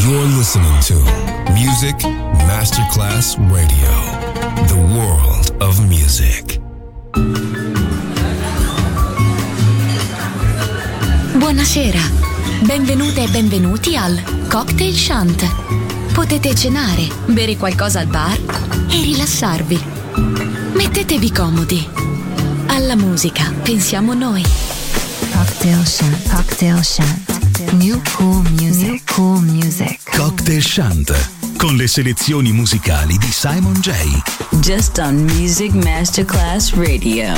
You're listening to Music Masterclass Radio, the world of music. Buonasera, benvenute e benvenuti al Cocktail Shant. Potete cenare, bere qualcosa al bar e rilassarvi. Mettetevi comodi. Alla musica pensiamo noi. Cocktail Shant, Cocktail Shant. New cool music, new cool music. Cocktail Shant, con le selezioni musicali di Simon J. Just on Music Masterclass Radio.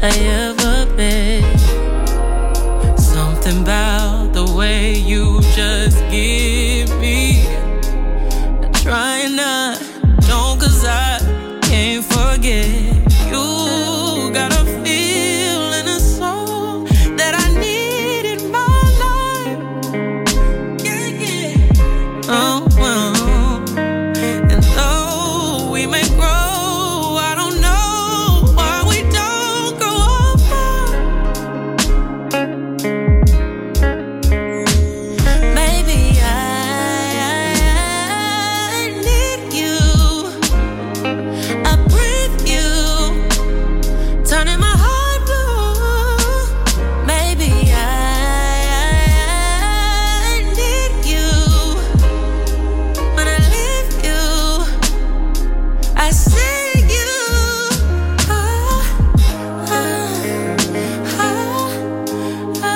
I ever been. Something about the way you just give me. I'm trying not, don't, 'cause I can't forget. You got a feel and a soul that I need in my life. Yeah, yeah. Oh, well. And though we may grow, I don't know why we don't grow apart. Maybe I need you. I breathe you, turning my heart blue. Maybe I need you. When I leave you, I see you. Ah, ah, ah, ah,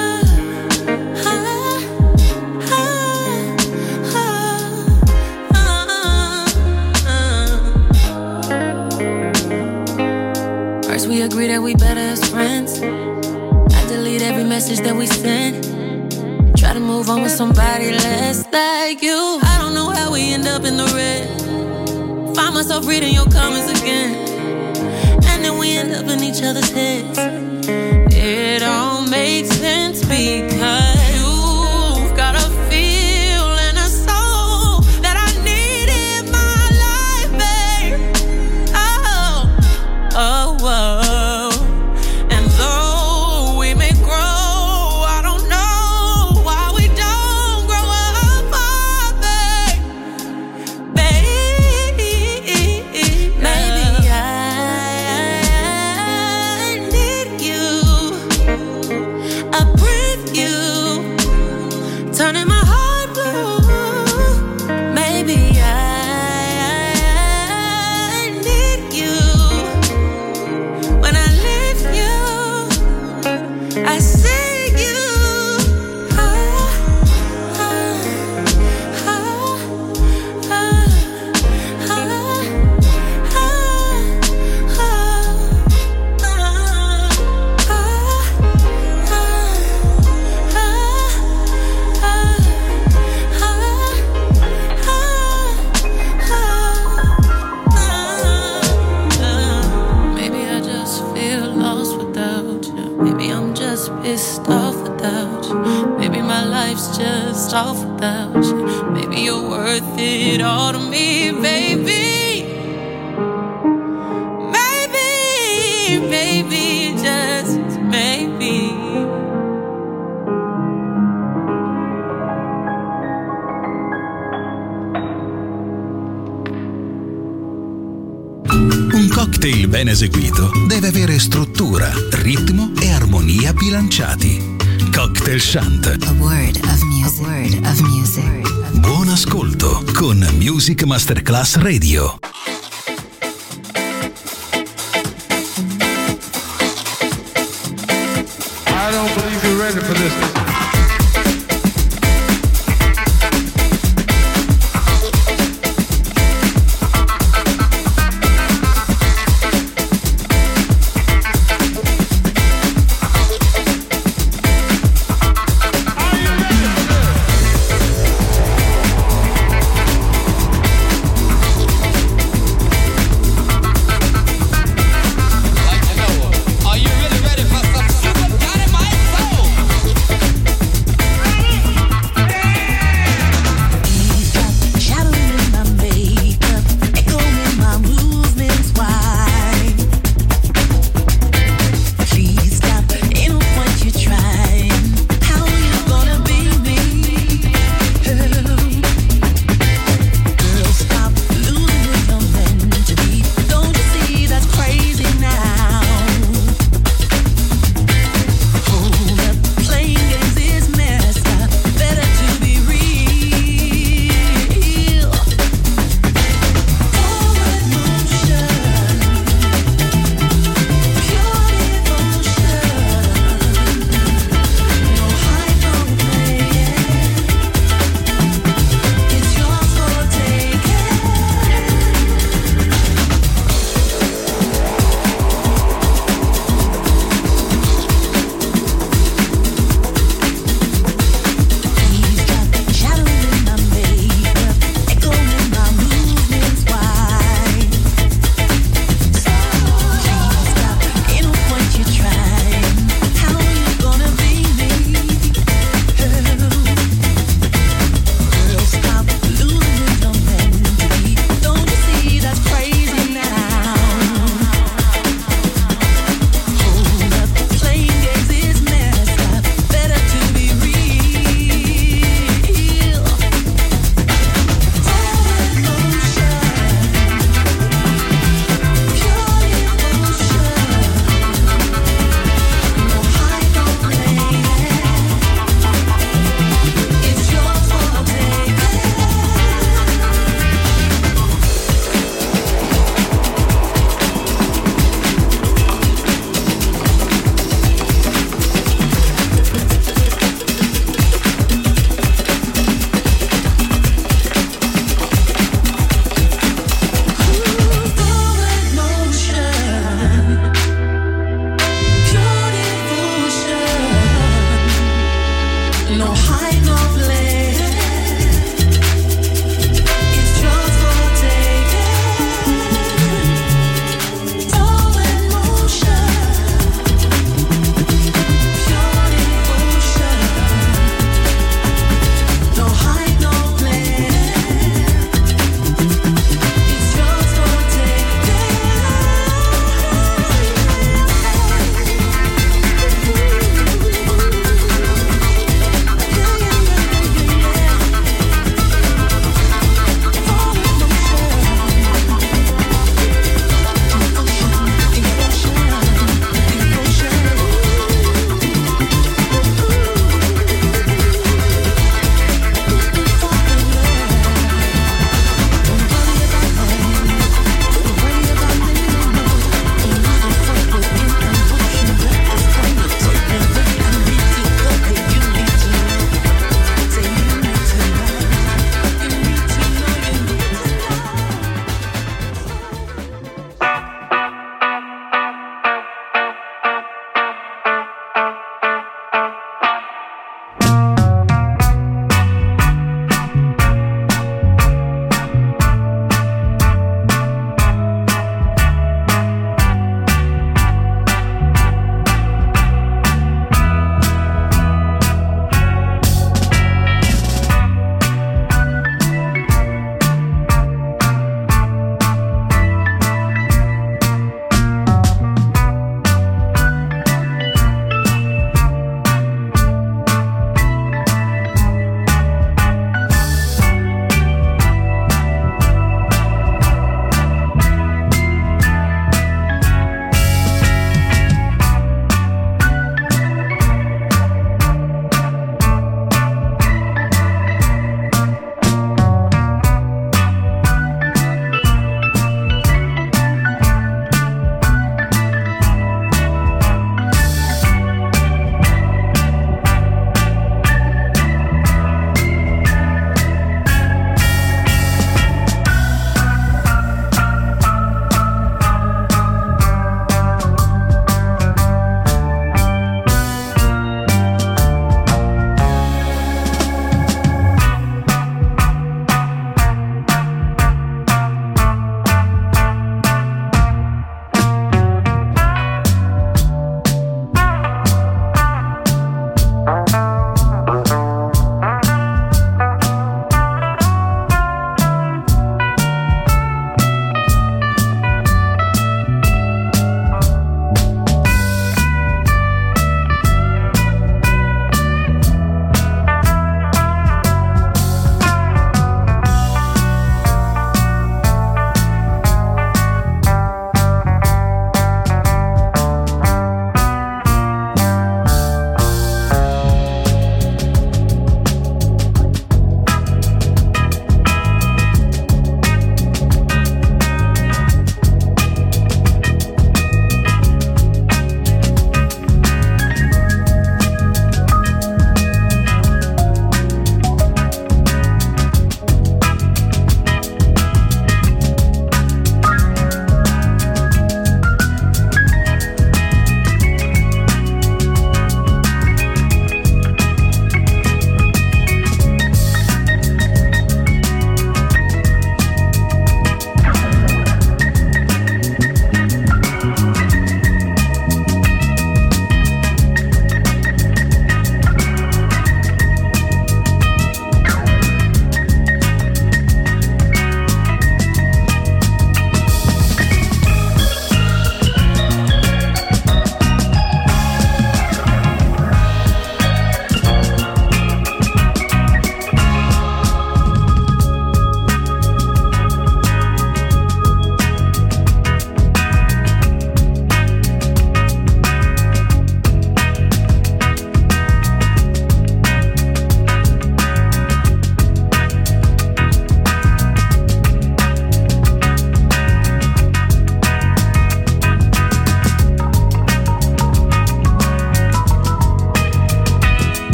First we agree that we better as friends. I delete every message that we send. Try to move on with somebody less like you. I don't know how we end up in the red. Find myself reading your comments again, and then we end up in each other's heads. It all makes sense because you've got a feel and a soul that I need in my life, babe. Oh, oh, whoa. And though we may grow, I don't know why we don't grow apart, babe. Maybe I need you. I breathe you, turning my heart blue. Maybe I need you. When I leave you, I see you. Ah, ah, ah, ah, ah, ah, Maybe I just feel lost without you. Maybe I'm just pissed off without you. Maybe my life's just off without you. Maybe you're worth it all to me, baby. Maybe, maybe, just maybe. Un cocktail ben eseguito deve avere struttura, ritmo e armonia bilanciati. Cocktail Shant. A word of music. A word of music. Buon ascolto con Music Masterclass Radio. I don't believe you're ready for this. Are you really ready for some super dynamite soul?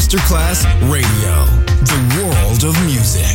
Masterclass Radio, the world of music.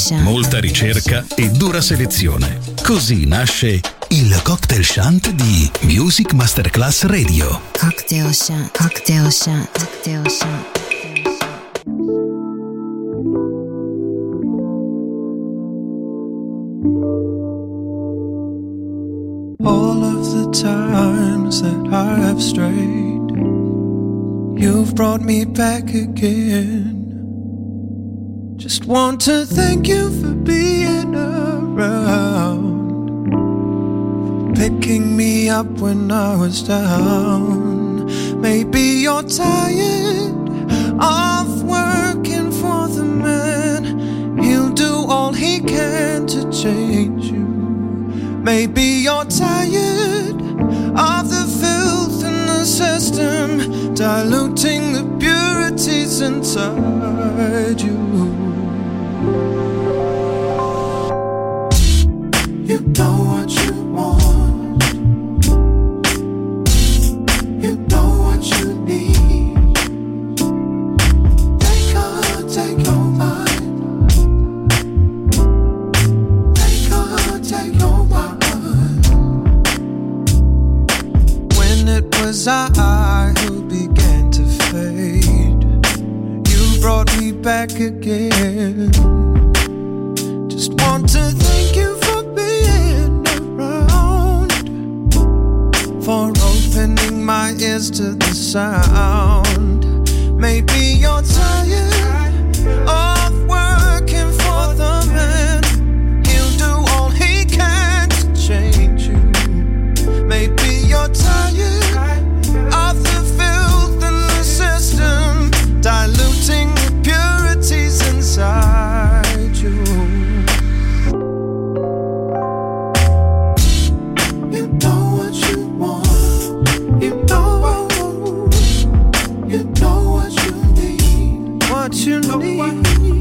molta ricerca e dura selezione. Così nasce il Cocktail Shant di Music Masterclass Radio. Cocktail Shant, Cocktail Shant, Cocktail Shant. All of the times that I have strayed, you've brought me back again. Just want to thank you for being around, for picking me up when I was down. Maybe you're tired of working for the man. He'll do all he can to change you. Maybe you're tired of the filth in the system, diluting the purities inside you. You know what you want. You know what you need. They can't take your mind. They can't take your mind. When it was I who began to fade, you brought me back again. Just want to thank you for being around, for opening my ears to the sound. Maybe you're tired of working for the man. He'll do all he can to change you. Maybe you're tired of the filth in the system, diluting the purities inside you. You know what you want. You know what you need. What you need.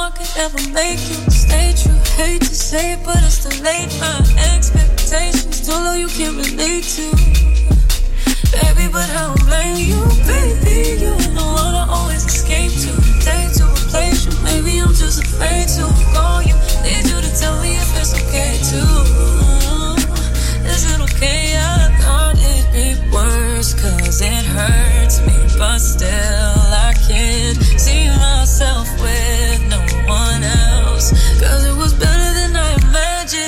one could ever make you stay true. Hate to say it, but it's too late. My expectations too low, you can't relate to. Baby, but I don't blame you, baby. You ain't the one I always escape to. Day to replace you, maybe I'm just afraid to call you. Need you to tell me if it's okay too. Is it okay? I thought it'd be worse, cause it hurts me, but still I can't see myself with no one else. Cause it was better than I imagined.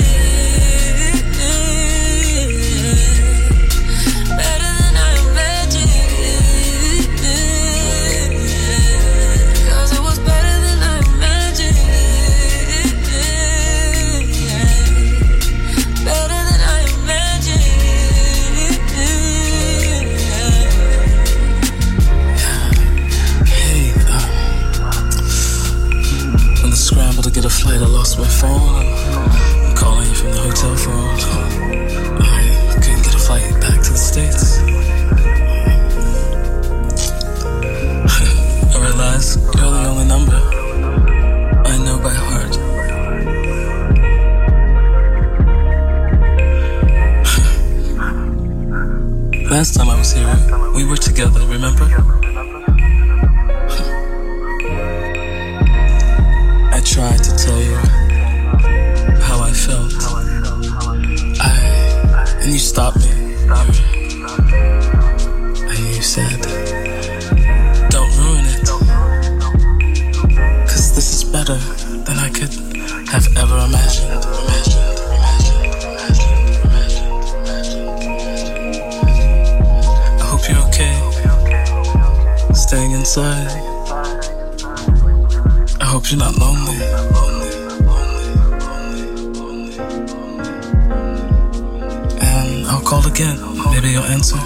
Better than I imagined. Cause it was better than I imagined. Better than I imagined. Hey, in the scramble to get a flight, I lost my phone. I'm calling you from the hotel phone. I couldn't get a flight back to the States. I realize you're the only number I know by heart. Last time I was here, we were together, remember? I tried to tell you how I felt. And you stopped me. And you said, don't ruin it. Cause this is better than I could have ever imagined. I hope you're okay, staying inside. I hope you're not lonely. And I'll call again, maybe you'll answer.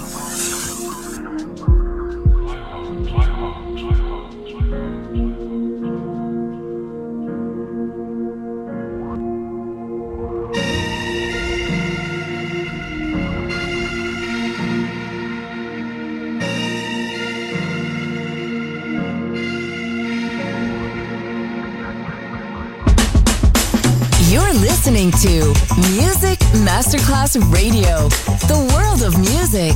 Listening to Music Masterclass Radio, the world of music.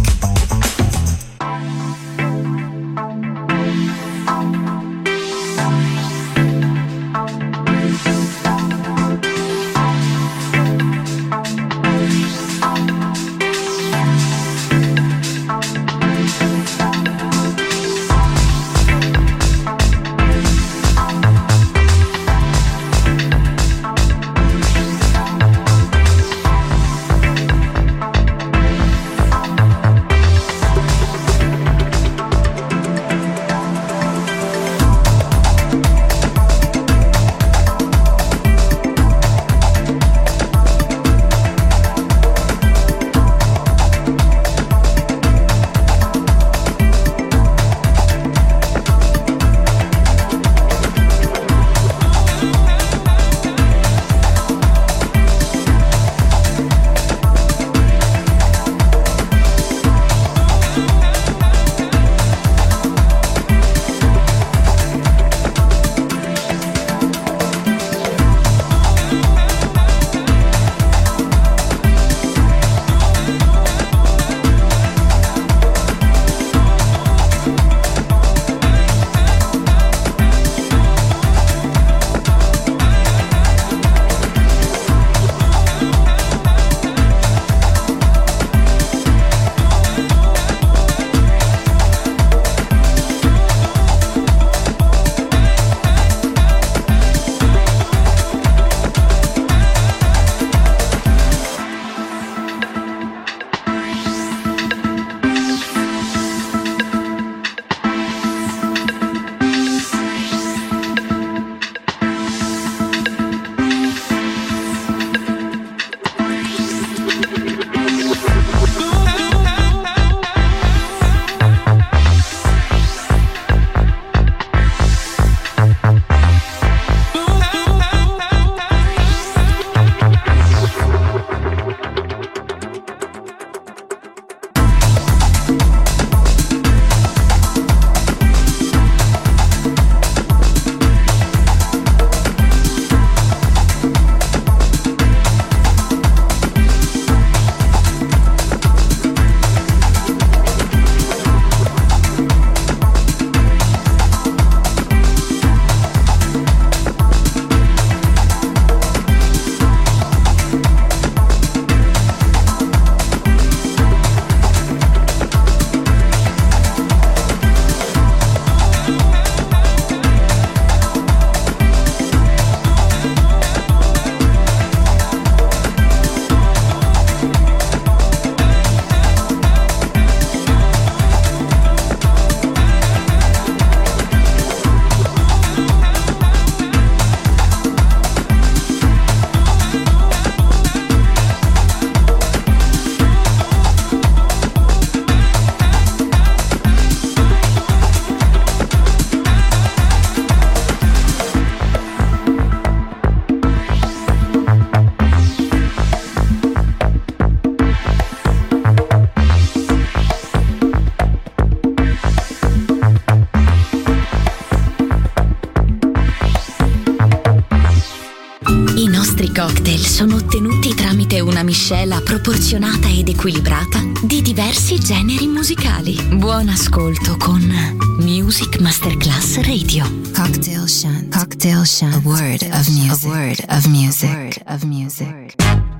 cocktail sono ottenuti tramite una miscela proporzionata ed equilibrata di diversi generi musicali. Buon ascolto con Music Masterclass Radio. Cocktail Shant. Cocktail Shant. A word of music. A word of music. A word of music.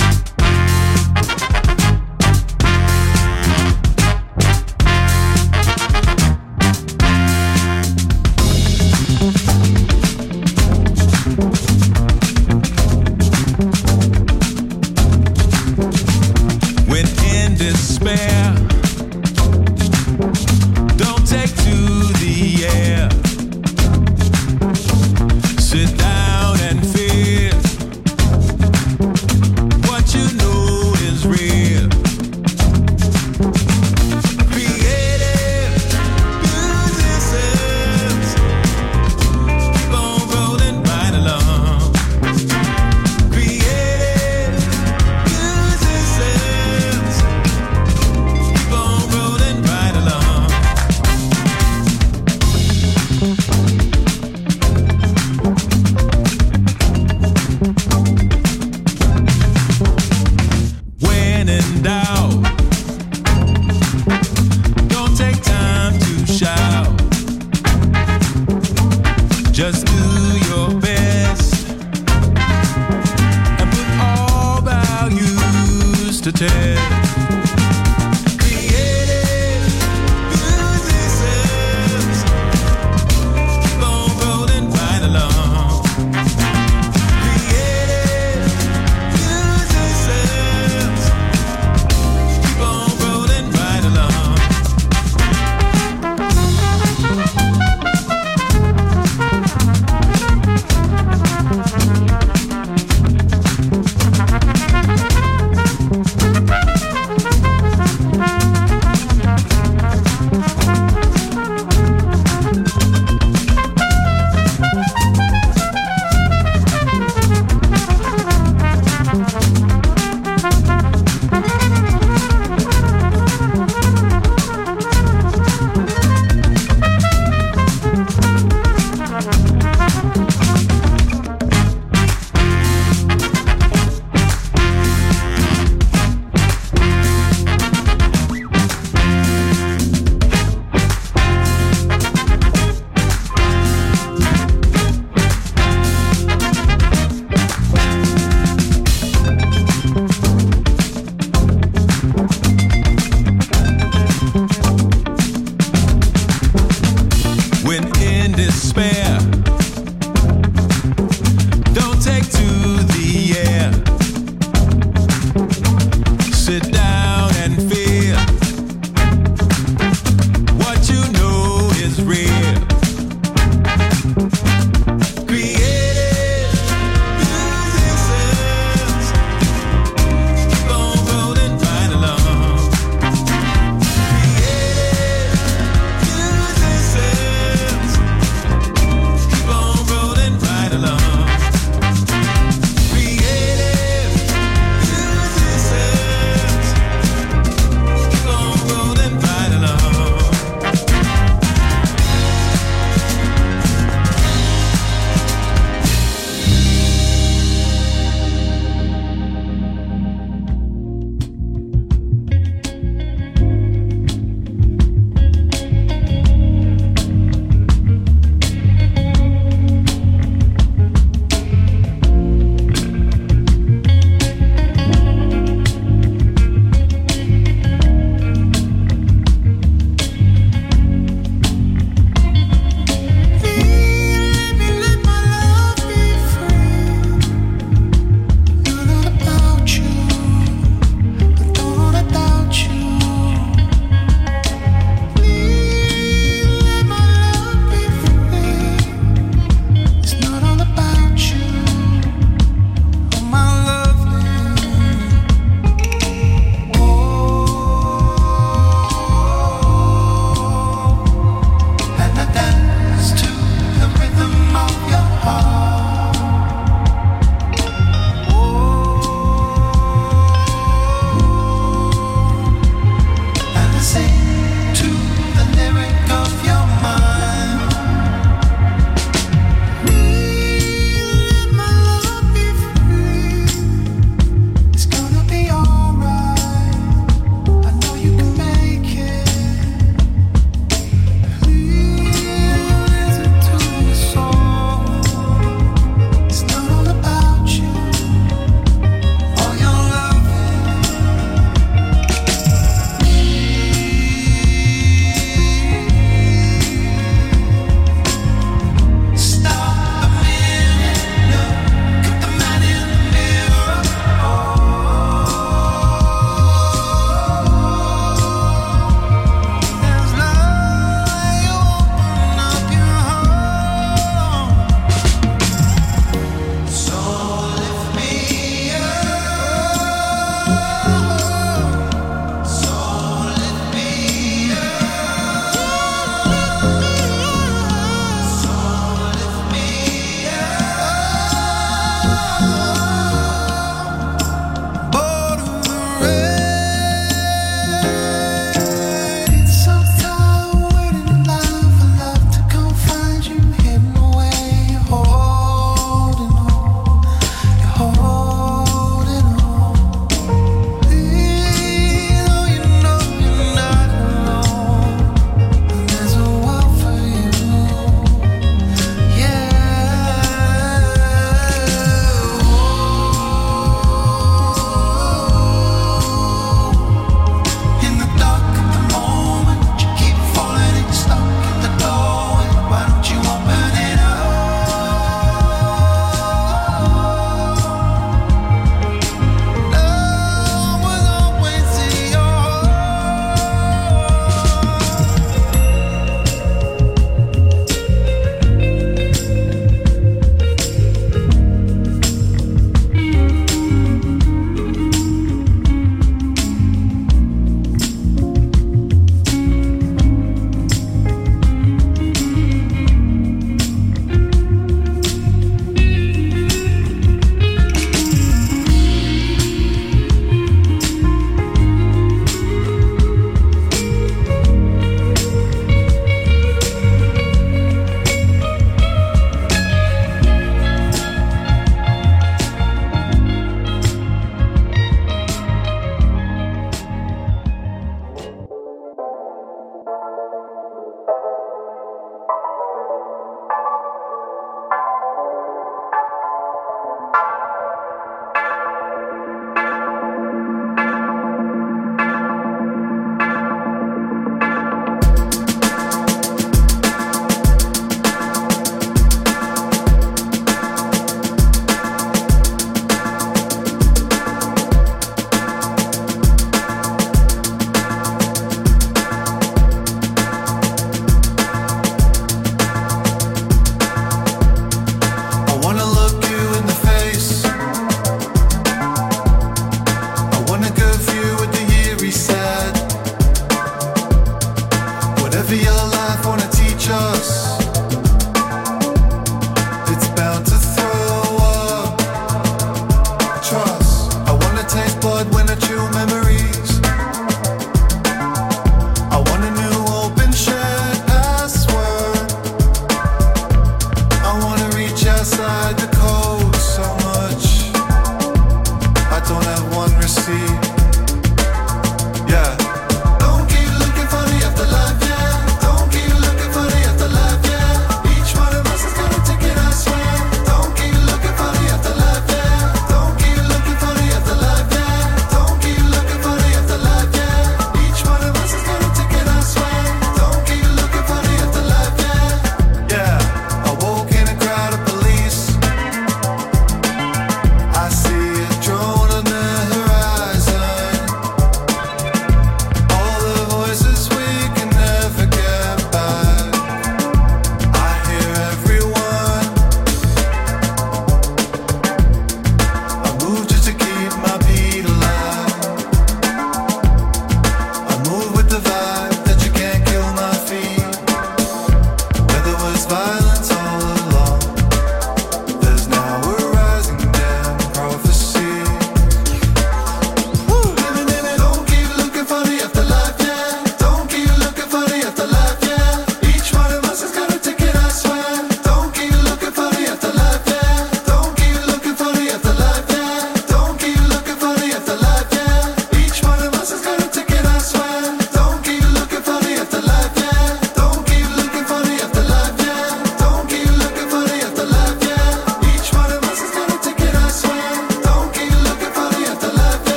Despair, don't take to the air. Sit down and feel what you know is real. Creative musicians keep on rolling right along. Creative musicians keep on rolling right along. When in doubt, don't take time to shout. Just do your best and put all values to test. Creative musicians keep on rolling right along. Creative musicians keep on rolling right along. When in despair, don't take to the air. Sit down and feel what you know is real. Creative musicians keep on rolling right along. Creative musicians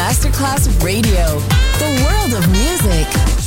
Masterclass Radio, the world of music.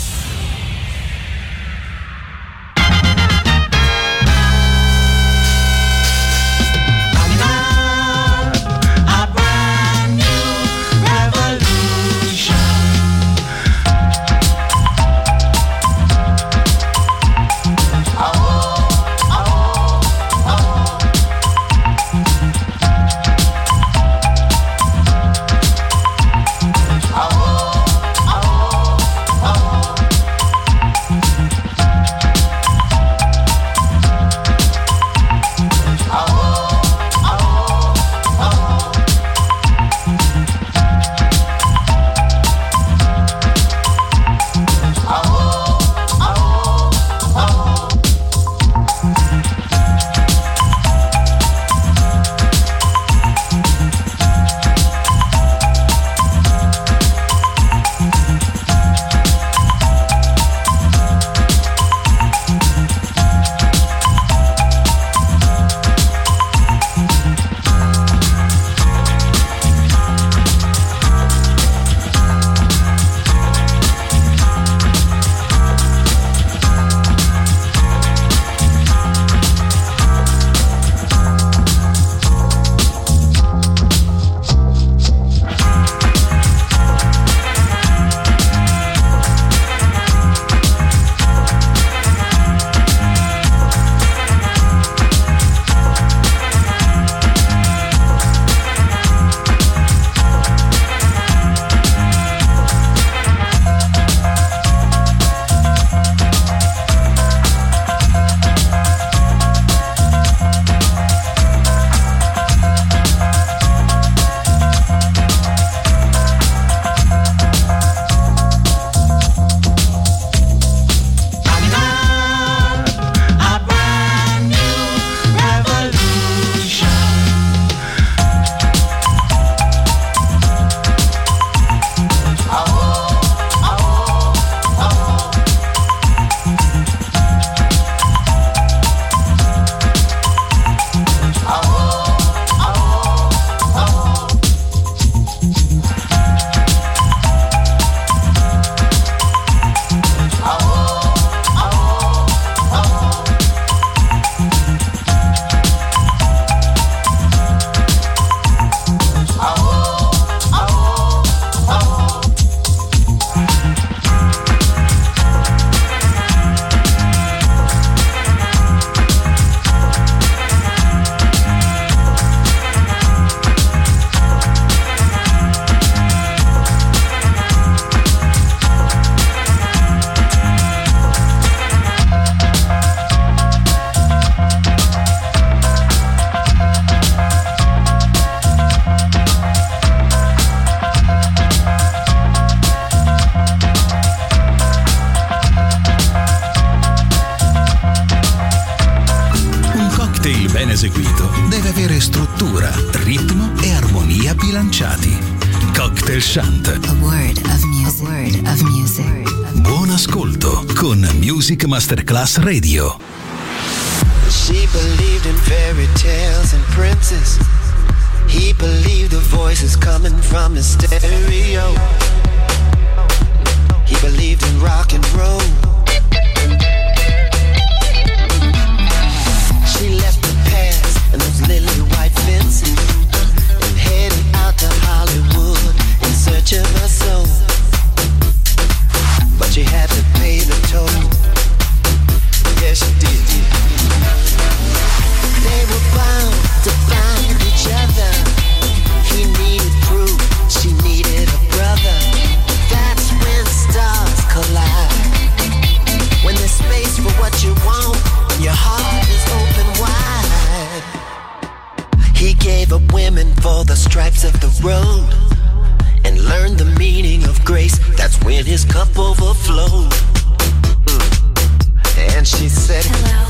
eseguito deve avere struttura, ritmo e armonia bilanciati. Cocktail Shant. A word of music. A word of music. Buon ascolto con Music Masterclass Radio. She believed in fairy tales and princes. He believed the voices coming from his stereo. He believed in rock and roll. She left the past and those lily white fences and headed out to Hollywood in search of her soul. But she had to pay the toll. Yes, she did. They were bound to find each other. He needed proof, she needed a brother. That's when stars collide. When there's space for what you want, and your heart is open wide. He gave up women for the stripes of the road and learned the meaning of grace. That's when his cup overflowed. And she said, hello.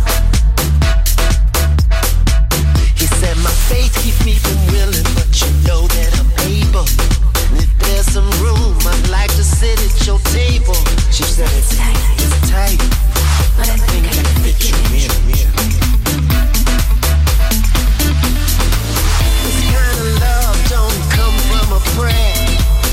He said, my faith keeps me from willing, but you know that I'm able. And if there's some room, I'd like to sit at your table. She said, it's tight, but I think I can fit you in. This kind of love don't come from a prayer.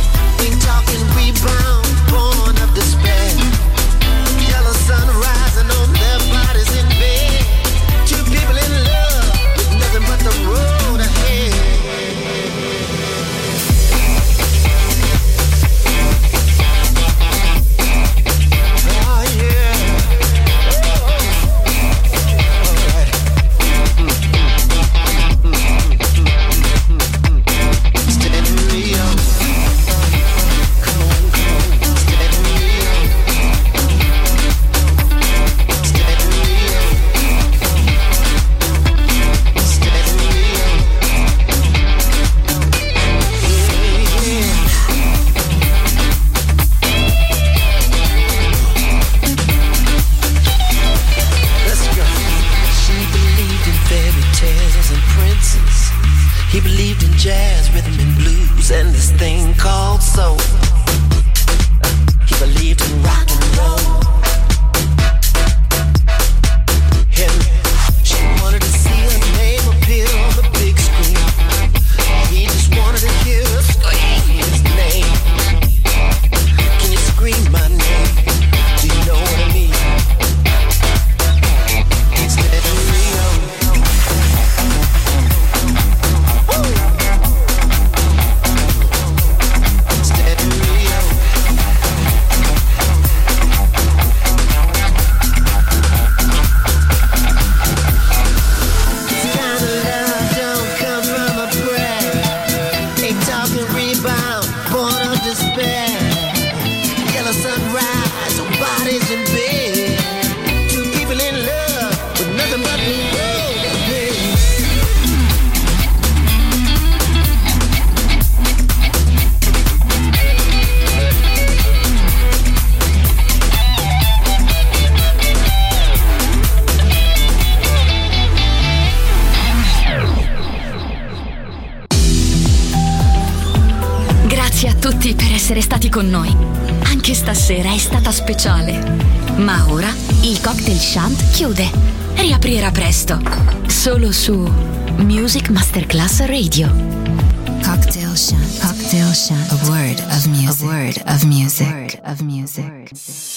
Grazie a tutti per essere stati con noi. Anche stasera è stata speciale. Ma ora il Cocktail Shant chiude. Riaprirà presto. Solo su Music Masterclass Radio. Cocktail Shant. Cocktail Shant. A word of music. A word of music.